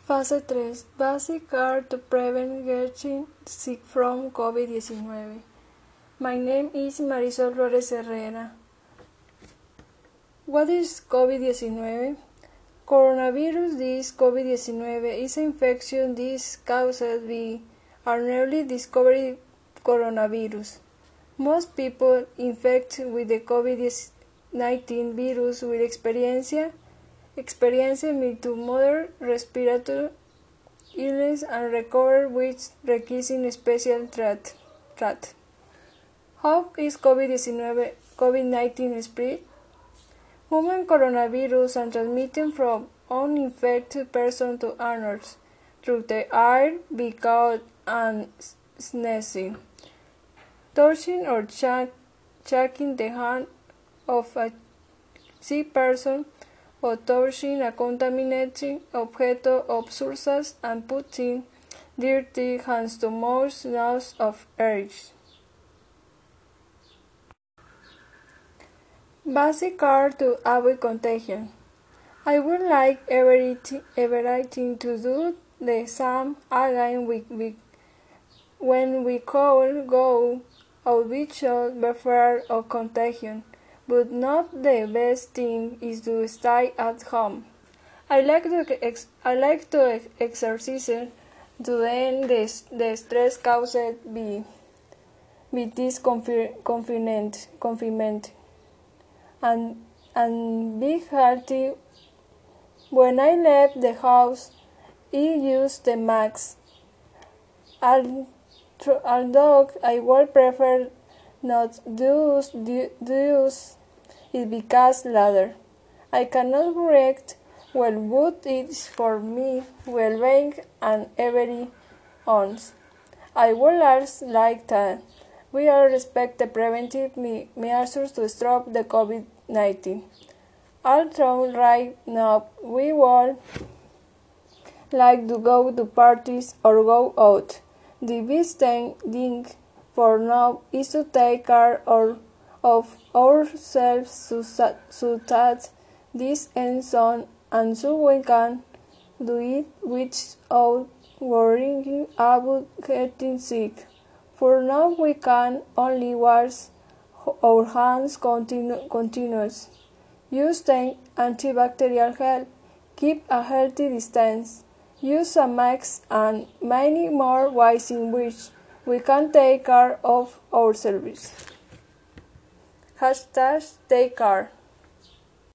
Fase 3. Basic care to prevent getting sick from COVID-19. My name is Marisol Flores Herrera. What is COVID-19? Coronavirus disease COVID-19 is an infection disease caused by an newly discovered coronavirus. Most people infected with the COVID-19 virus will experience mild respiratory illness and recover which requires special treatment. How is COVID-19 spread? Human coronavirus are transmitted from uninfected person to others through the air, by cough and sneezing, touching or shaking the hand of a sick person, or touching a contaminated object of sources and putting dirty hands to mouth, nose, or ears. Basic care to avoid contagion. I would like everything to do the same again when we could go out. We should be afraid of contagion, but not the best thing is to stay at home. I like to exercise to end the stress caused by this confinement and be healthy. When I left the house, I used the mask. Although I would prefer not to use it because later I cannot react well, but it is for me well-being and everyone's. I would also like that we all respect the preventive measures to stop the COVID-19. Although right now we would like to go to parties or go out, the best thing for now is to take care of ourselves so that this ends on and so we can do it without worrying about getting sick. For now we can only wash our hands continuously, use the antibacterial gel, keep a healthy distance, use a mask, and many more ways in which we can take care of ourselves. #TakeCare